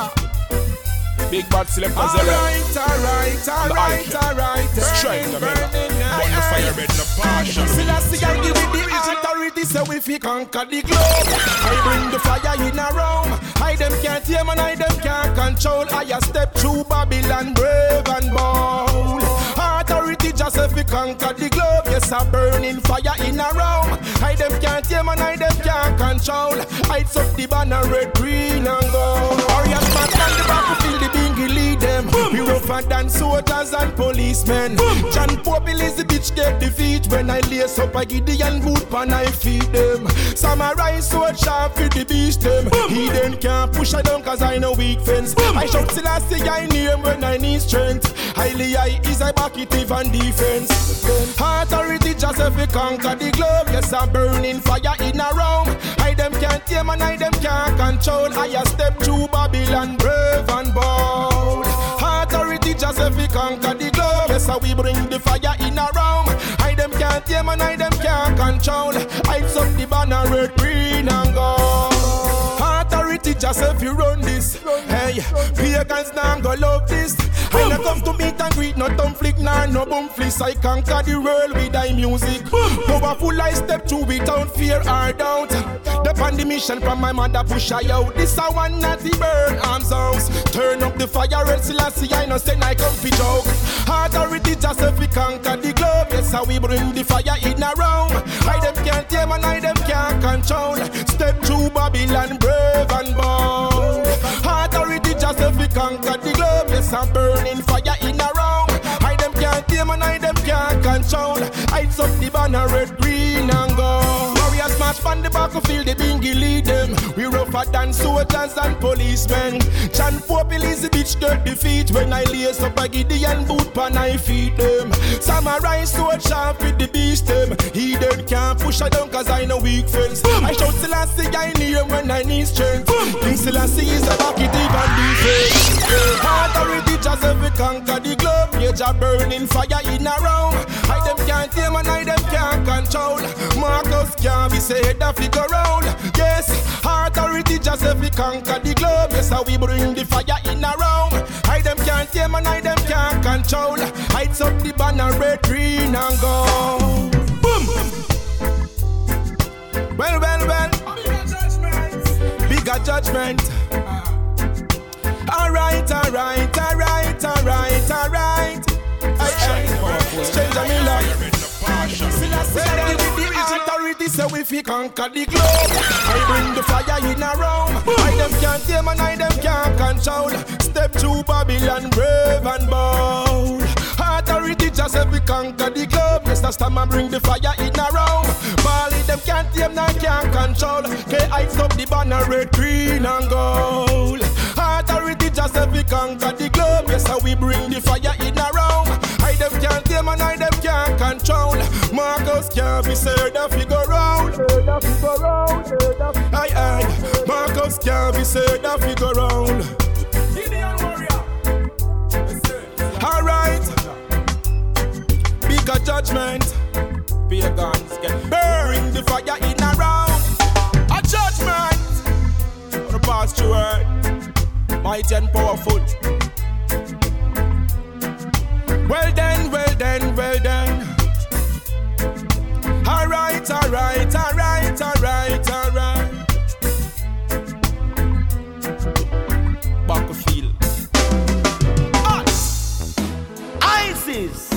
Big bad selector Zella. Alright, alright, alright, alright. Strike the mirror. Burn the fire bed in the passion. Selassie, I give it the authority, so if we conquer the globe, I bring the fire in a room. I them can't hear man, I them can't control. I a step through Babylon, brave and bold. Authority just if we conquer the globe. Yes, a burning fire in a room. I them can't hear man, I them can't control. I up the banner red, green and gold. Warriors man on the battlefield, the bingy lead them. We rougher than soldiers and policemen. John Pope is the bitch get defeat. When I lace up a Gideon boot pan I feed them. Samurai sword sharp for the beast them. He then can't push a down cause I know weak fence. I shout Selassie I name when I need strength. Highly I is I back it even defense. Authority just if we conquer the globe. Yes I'm burning fire in a room. I them can't tame and I them can't control. I a step through Babylon brave and bold. Authority just if we conquer the globe. Yes we bring the fire in a room. I them can't tame and I them can't control. I up the banner red, green and gold. Authority just if you run this. Hey, pagans now go love this. I not come to meet and greet, no dumb flick, nah, no bum fliss. I conquer the world with thy music. Powerful I step through without fear or doubt. The pandemic from my mother push I out. This a one natty burn arms out. Turn up the fire red Selassie, I no say I come fi joke. Authority just if we conquer the globe. Yes, how we bring the fire in a room. I them can't tame and I them can't control. Step through Babylon brave and bold. Authority just if we conquer the globe. Yes, I'm burning fire in a room. I them can't tame and I them can't control. I up the banner red, green and gold. Warriors march on the battlefield, the bingy lead them. We rougher than soldiers and policemen. John Pope is the bitch get defeat. When I lace up a Gideon boot pan I feed them. Samurai sword sharp with the beast them. He then can't push her down cause I know weak friends. Boom. I shout Selassie I near when I need strength. King Selassie is a bucket even defense. Authority just every conquer the globe. Age a burning fire in a round. I them can't tame and I them can't control. Marcus can't be said that figure round. Yes, authority just every conquer the globe. Yes, how we bring the fire in a round. I them can't tame and I them can't control. Heights up the banner red, green and gold. Boom! Well, well, well. Bigger judgment. Alright, alright, alright, alright, alright. Stranger Miller. Say with the authority, say we fi conquer the globe. I bring the fire in a room. I them can't tame and I them can't control. Step through Babylon, brave and bold. Authority just say we conquer the globe. Yes, that's time I bring the fire in a room. Bali them can't tame and can't control. K I stop the banner red, green and gold. Authority just say we conquer the globe. Yes, how we bring the fire in a room. I them can't tame and I them can't control. Marcus can't be said that figure round. Aye aye. Marcus can't be said that figure round. Alright. Bigger judgment. Pagans get burned. The fire in a round. A judgment. The past through earth. Mighty and powerful. Well then, well then, well then. Alright, alright, alright, alright, alright. Battlefield. Us. ISIS.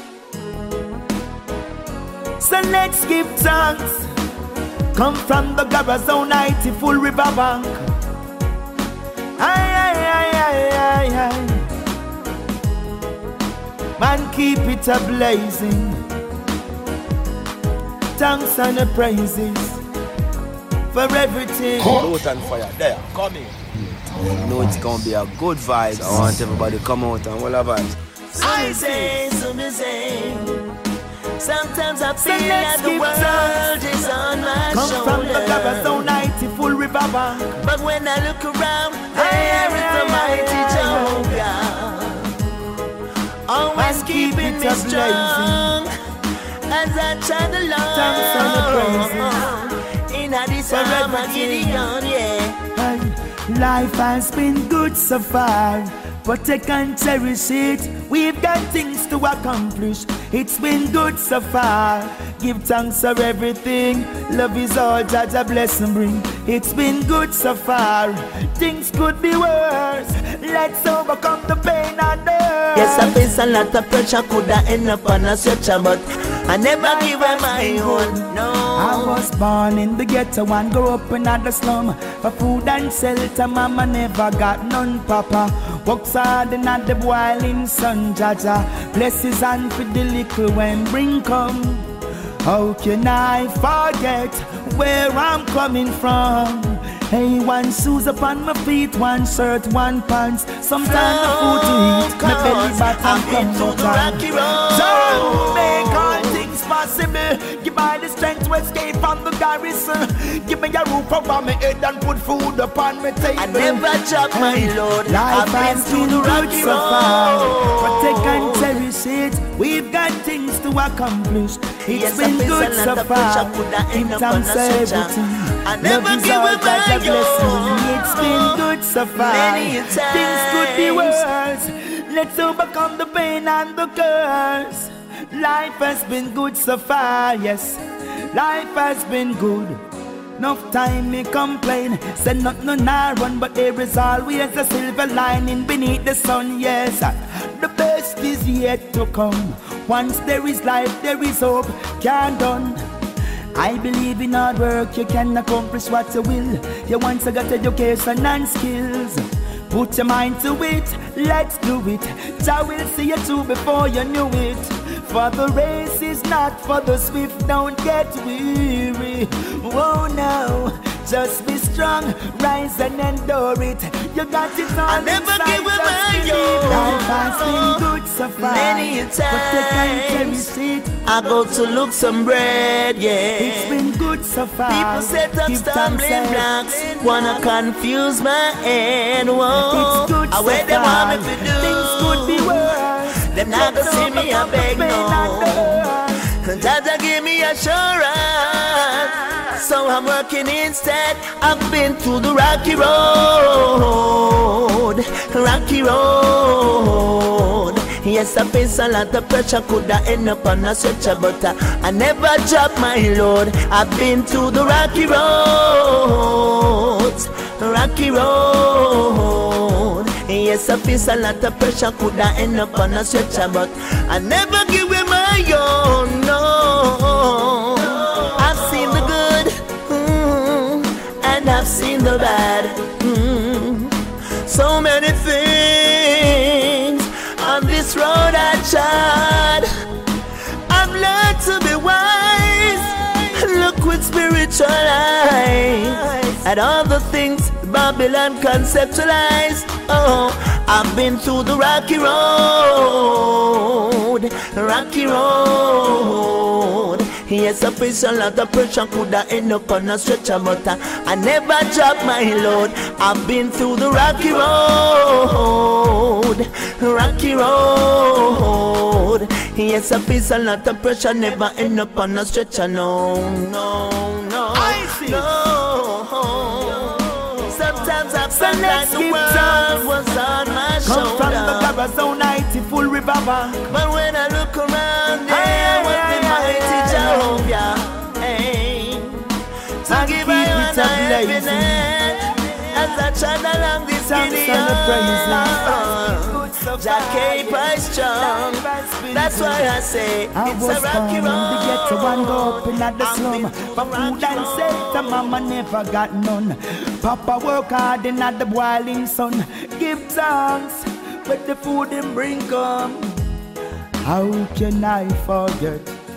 So let's give thanks. Come from the Garazone ninety full river bank. Aye, aye, aye, aye, aye, aye. Man, keep it a blazing. Thanks and the praises for everything. Loot and fire, there, come in. You know it's gonna be a good vibe. I want everybody to come out and all of us. I say, so me say. Sometimes I feel like the world is on my Come shoulder. from the Garazone ninety full river bank. But when I look around, there is the mighty Jehovah. Always keeping me strong as I chant along. In this time I'm getting on, yeah. Life has been good so far. Protect and cherish it. We've got things to accomplish. It's been good so far. Give thanks for everything. Love is all that a blessing bring. It's been good so far. Things could be worse. Let's overcome the pain and hurt. Yes, I face a lot of pressure. Coulda end up on a stretcher, but I never give her my own. No. I was born in the ghetto and grew up in the slum. For food and shelter, mama never got none, papa. Works hard in the boiling sun, Jaja. Bless his hand for the little when bring come. How can I forget where I'm coming from? Hey, one shoes upon my feet, one shirt, one pants. Sometimes the food to eat, my belly button come no time. So make all things possible. Give me the strength to escape from the garrison. Give me a roof over my head and put food upon my table. I never drop my load. Life has been good so far. Protect and cherish it. We've got things to accomplish. It's Yes, been I good so far. In terms of everything. I never Love is give all up that my a blessing. It's been good so far. Many a Things could be times. worse. Let's overcome the pain and the curse. Life has been good so far, yes. Life has been good. Enough time me complain. Say not no nah run, but there is always a silver lining beneath the sun, yes. The best is yet to come. Once there is life, there is hope. Can't done. I believe in hard work, you can accomplish what you will. You once got education and skills. Put your mind to it, let's do it. Jah will see you through before you knew it. For the race is not for the swift, don't get weary. Oh no, Just be strong, rise and endure it. You got it all. I never inside, give up my yo. Life has been good so far. Many a times I go to look some bread, yeah. It's been good so far. People set up stumbling blocks, wanna confuse my head. Whoa, it's good I so where they far. want me to do. Things could be worse. Them not gonna see me a beg no. Jaja give me assurance, so I'm working instead. I've been through the rocky road, rocky road. Yes, I face a lot of pressure, coulda end up on a stretcher, but uh, I never drop my load. I've been through the rocky roads, rocky road. Yes, I face a lot of pressure, coulda end up on a stretcher, but I never give away my own. No, I've seen the good, mm, and I've seen the bad. Mm. So many things on this road I tried. I've learned to be wise. Look with spiritual eyes at all the things Babylon conceptualized. Oh, I've been through the rocky road, rocky road. Yes, I face a lot of pressure, coulda end up on a stretcher, but uh, I never drop my load. I've been through the rocky road, rocky road. Yes, I face a lot of pressure, never end up on a stretcher. No, no, no, I see. No. Sometimes I felt like the world was on my Come shoulder. from the Garazone ninety full river bank. But when I look around, there was the mighty Jehovah. Hey, to give I honor every night as I trod along this Gideon. Jah keep us strong. That's why I say I it's was a rocky born road. to get to one go up in the slum. For food and shelter, mama never got none. Papa work hard in the boiling sun. Give thanks with the food and bring come. How can I forget?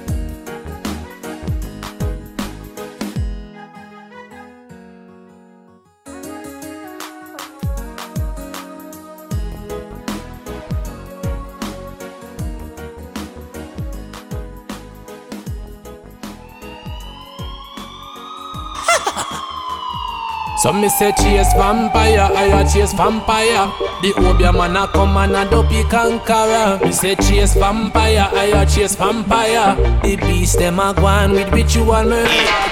So me say chase vampire, I chase vampire. The Obia man a come and a dopey conqueror. Me say chase vampire, I chase vampire. The beast them a go on with ritual murder.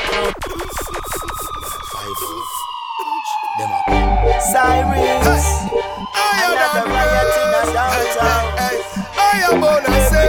Cyrus, another riot in a downtown. I am gonna say,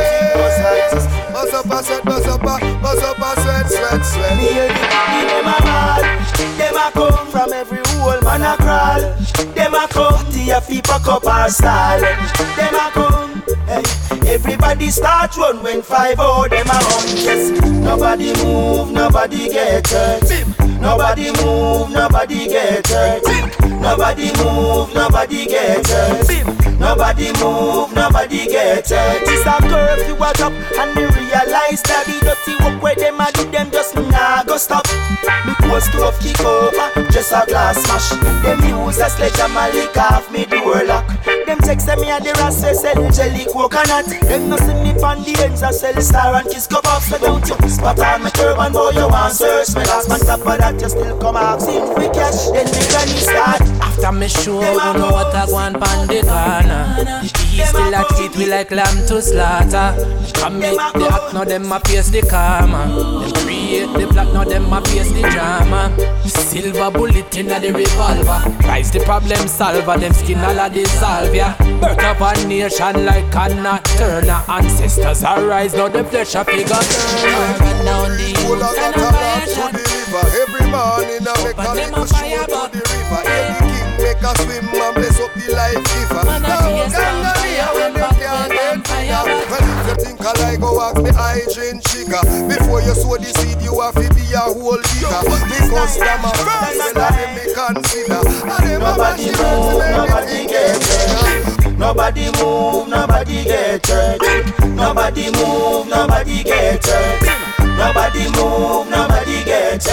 buzz up a sweat, buzz up a, buzz up a sweat, sweat, sweat. Me hear the body, them a ball. Them a come from every hole, man a crawl. Them a come to your feet, pack up our stall. Them a come, hey. Everybody start run when five oh them a run. Yes, nobody move, nobody get hurt. Nobody move, nobody get hurt. Nobody move, nobody get hurt. Nobody move, nobody get hurt. It's a curfew was up and they realize that the dirty work where them a do them just nah go stop. Me post to off kick over, just a glass smash. Them use a sledgehammer lick off me door lock. Them text me a the ras say sell jelly coconut. Them no see me pon the ends a sell star and kiss cup off. So don't you spot on my turban boy you want search me last man top of that you still come asking for cash. Then me granny start. After me show you know what I want pon the corner. The east still a treat we like lamb to slaughter. Come make the act now them a face the karma. Them create the plot now them a face the drama. Silver bullet in the revolver. Rise the problem solver. Them skin all a dissolve ya. Birth of a nation like Anna Turner. Ancestors arise now the flesh a figure turn. Run down the Pull out hills and a a fire to shot. the river. Every morning I make a little stroll to the river. Every king make a swim and bless up the life giver. No, Gangalia when you can't get fire. Well, if you think I like go ask me hygiene chica. Before you sow the seed you have to be a whole digger. Because them a first well I me consider. And them a Nobody move, nobody get hurt. Nobody move, nobody get hurt. Nobody move, nobody get hurt. Nobody move, nobody get hurt. It's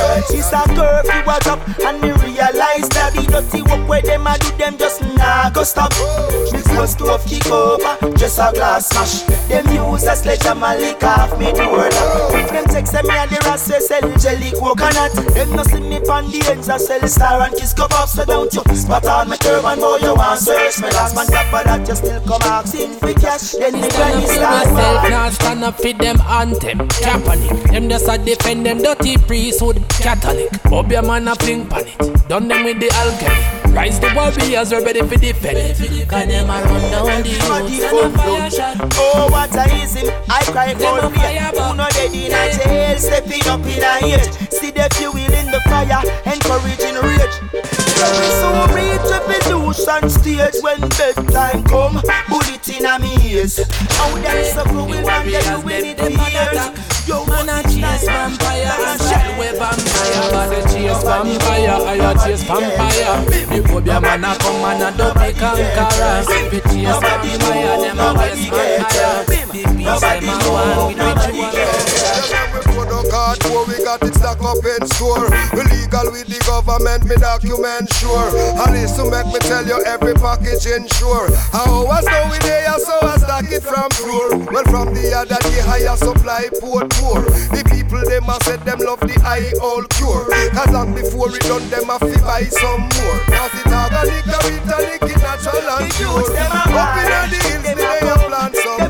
Just a curfew was up and me realize that the dirty work where them a do them just nah go stop. Me close to off kick over, just a glass smash. Them use a sledgehammer lick off me door lock. Them text me and the rest say sell jelly coconut. Them no see me pon the ends I sell star and kiss cup up. So don't you spot on my turban boy you want search me last man top of that you still come asking for cash. Then the granny start myself now stand up for them anthem Catholic. Them just a defend them dirty priesthood Catholic. Bobby a man a fling pan it. Done them with the alchemy. Rise the warriors, we're ready for defend it. Cause them a run down the youth and a fire shot. Oh, what a easy, I cry for fear. Who know dead in a jail, stepping up in a age. See the fuel in the fire, encouraging rage. So reach revolution stage when bedtime come. Bullet in a me ears. How them suffer will man get you with it tears. Yo, man a chase vampire and shell with vampire. Man a chase vampire, I a chase vampire. Hope your man a come and a double conqueror. If it chase vampire, them a waste vampire. The peace them a want with ritual. We got it stuck up in store. We legal with the government, me document sure. And this to make me tell you every package insure. How was no we there, so I stack it from floor. Well from the other day, higher supply port poor. The people them a said them love the high old cure. Cause long before we done them a fi buy some more. Cause it organic, organic, it natural and pure. Up in the hills, me they a plant some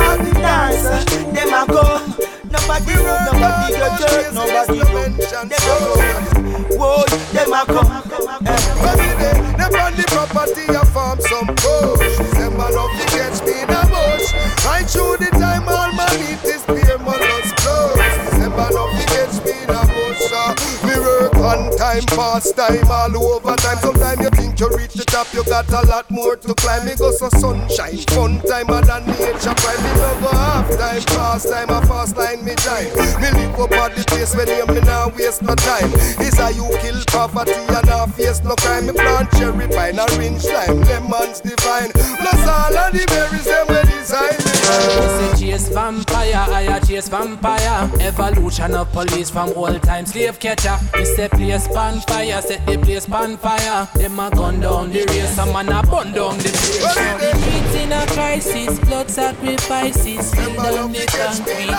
more. Them a go. Nobody, nobody go jerk, nobody go. Them a go. Whoa, them a come. Every day, them on the property a farm some bush. Them a love to catch me in a bush. Right through the time all my meat is beer, my lost clothes. Them a love to catch me in a bush. Me work on time, past time, all over time. Sometimes you think you reach the top, you got a lot more to climb. Me go so sunshine, fun time, and than nature crime. Me no go half time, past time, a fast line me time. Me live up at the place when you me now waste no time. Is how you kill poverty and not face no crime. Me plant cherry pine, orange lime, lemons divine. Plus all of the berries them we design me. I say chase vampire, I a chase vampire. Evolution of police from old time slave catcher. We say place pan fire, set the place pan fire. Them a gun down the race, some man a burn down the place. Streets in a crisis, blood sacrifices, still down the concrete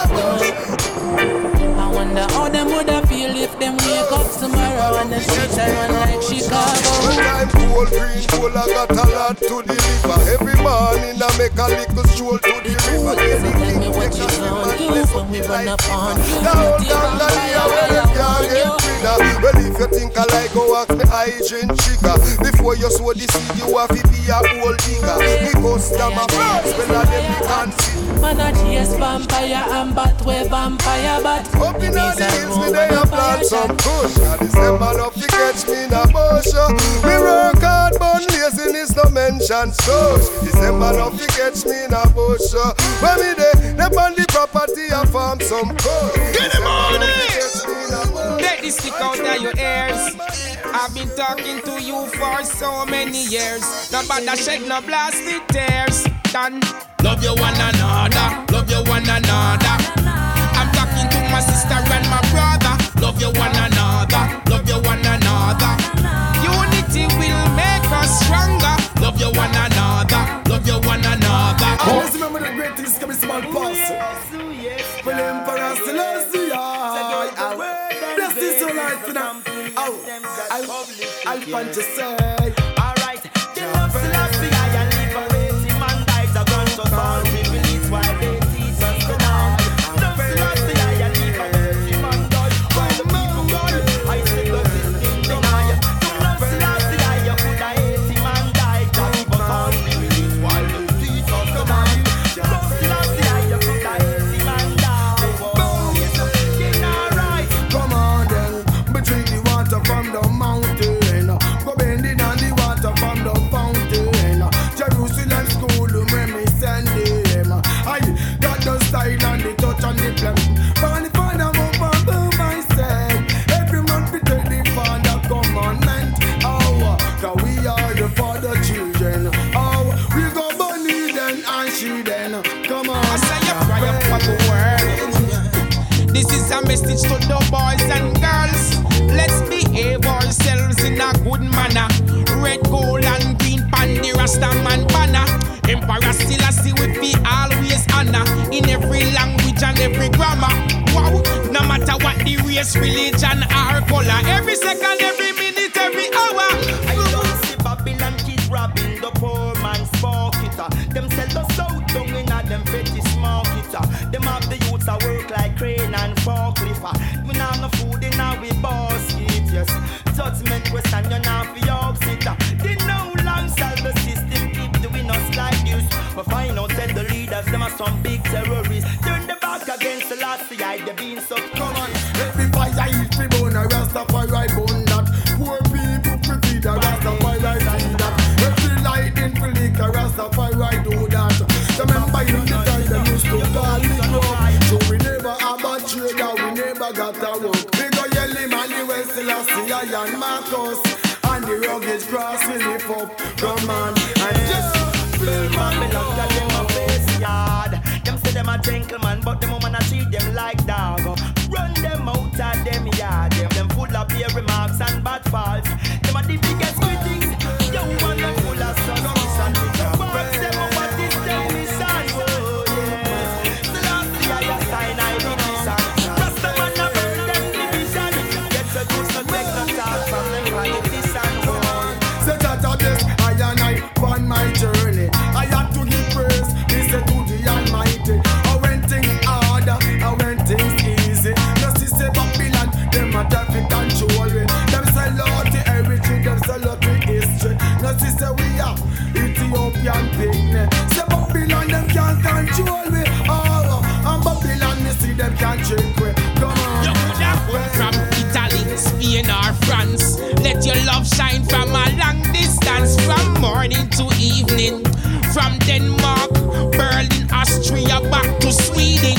floor. I wonder how them woulda feel if them wake up tomorrow and the streets are run like Chicago. When I'm cool, green, cool, I got a lot to deliver. Every morning I make a little stroll to the river. So tell me what you gonna do when we run up on you. Down, down, down, down, where you can't get rid of. Well, if you think I like, go ask me hygiene trigger. Before you sow the seed, you have to be a old digger. Because them a friends, well, I them we can't see. Man a chase vampire and bat we vampire bat. Up in the hills, me they a plant some bush. And this them man up to catch me in a bush. Me work hard, but laziness no mention such. This them man up to catch me in a bush. When me they, them on the property and farm some bush. Get them on it! Let this stick out of your ears. I've been talking to you for so many years. Not bad to shed no blasted tears. Done. Love you one another, love you one another. I'm talking to my sister and my brother. Love you one another, love you one another. Unity will make us stronger. Love you one another, love you one another. Always remember the great things come in small parts. For the Emperor Selassie, bless this your life now. Oh, I'll punch you say. Alright, the love Selassie, I am liberating man dies a gun to all we release while they teach us to know. Love Selassie, I am liberating man dies while the people gone. I say love is in deny. Love Selassie, I am put a eighty man die just but all we release while they teach us to know. Love Selassie, I am put a eighty man die. Boom, it's alright. Come on then, between the water from the mountain. Go bending on the water from the fountain. Jerusalem school when me send them. I got the style and the touch and the plan. But the father move on to myself. Every man fit tell the father commandment. Oh, cause we are the father children. Oh, we go bunny then and she then. Come on. I say you cry up for the world. This is a message to the boys and girls. Let's Rastaman banner. Emperor Selassie we be always honor in every language and every grammar. Wow, no matter what the race, religion or color, every second, every minute, every hour. I don't see Babylon kids robbing the poor man's pocket. Them sell the south down in a them petty small kit. Them have the youths that work like crane and forklift. We now no food in our basket, yes. Judgment question you now for your sitter. They know long sell the system keep doing us like this. But find out that the leaders them are some big terrorists. Turn the back against the last eye they been so come on. Every fire is the bone, a Rastafari bone that. Poor people pretty the Rastafari see that. Every light in Philip, a Rastafari do that. Remember in the time they used to call me club. So we never have a trader, we never got a work. We go yelly man, the West Selassie and Marcus. And the rugged cross we lift up, come on. And just Blue Babylon got them a face yard. Them say them a gentleman, but them woman a treat them like dog. Run them out of them yard. Them, them full of beer remarks and bad faults. Them are the biggest critics. You want them full of suspicion. But them a what this time is on. Oh yes. The last year I sign I division. Rastaman a burn them division. Get so good so take no talk from them politicians. set out of this, I and I on my journey. I had to give praise, listen to the Almighty. I went things harder, I went things easy. No sister Babylon, them a traffic control me. Them sell out the everything, them sell out the history. No sister we are Ethiopian picnic. Say Babylon, them can't control me. Oh, and Babylon, me see them can't trick me. Come on. You could have come from Italy, Spain or France. Let your love shine from a long distance, from morning to evening, from Denmark, Berlin, Austria, back to Sweden.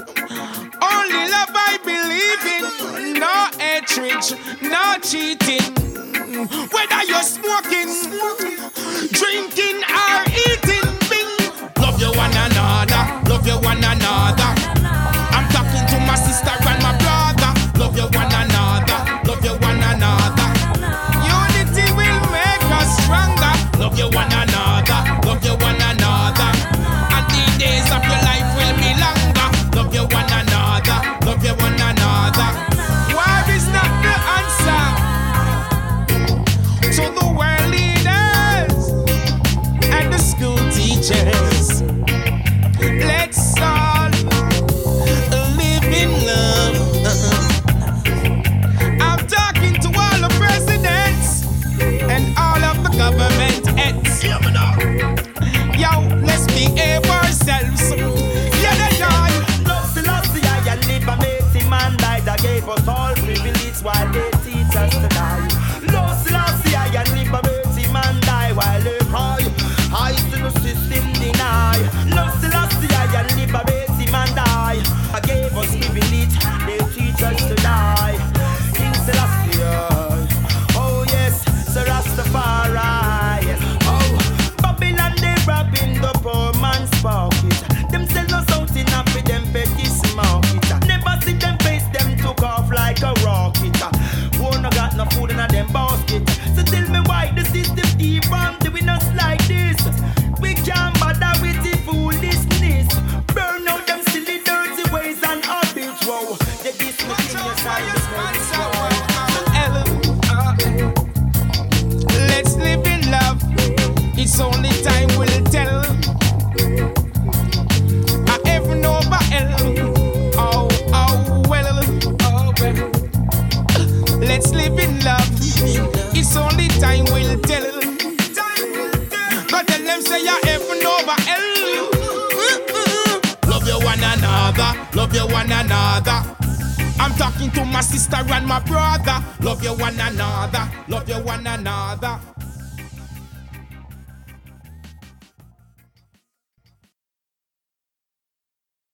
Only love I believe in, no hatred, no cheating. Whether you're smoking, drinking or eating, bing. Love you one another, love you one another. I'm talking to my sister and my brother. Love you one another, love you one another. Unity will make us stronger. Love you one another, love you one another. And the days of your life will be longer. Love you one another, love you one another. War is not the answer to the world leaders and the school teachers. Let's all live in love. I'm talking to all the presidents and all of the government heads. Yo, let's behave ourselves. Yeah, yeah, yeah. Love Selassie, I live a mighty man died that gave us all privilege while they teach us to die. Love Selassie, I live a mighty man die while they cry. I to the system deny. Love Selassie, I live a mighty man die. I gave us privilege, they teach us to die. King Selassie, oh yes, Sir Rastafari. Oh, Babylon they robbing the poor man's pocket. Them sell us out in a for them petty market. Never see them face, them took off like a rocket. Who no got no food in a them basket. So tell me why the system keep on doing us like this. We can't bother with the foolishness. Burn out them silly dirty ways and habits. Whoa, they discontinuous Let's live in love. It's only time will tell. I ever know about hell. Oh, oh, well, oh, well. Let's live in love. It's only time will tell. But tell them say I ever know about hell. Love you one another. Love you one another. I'm talking to my sister and my brother. Love you one another. Love you one another.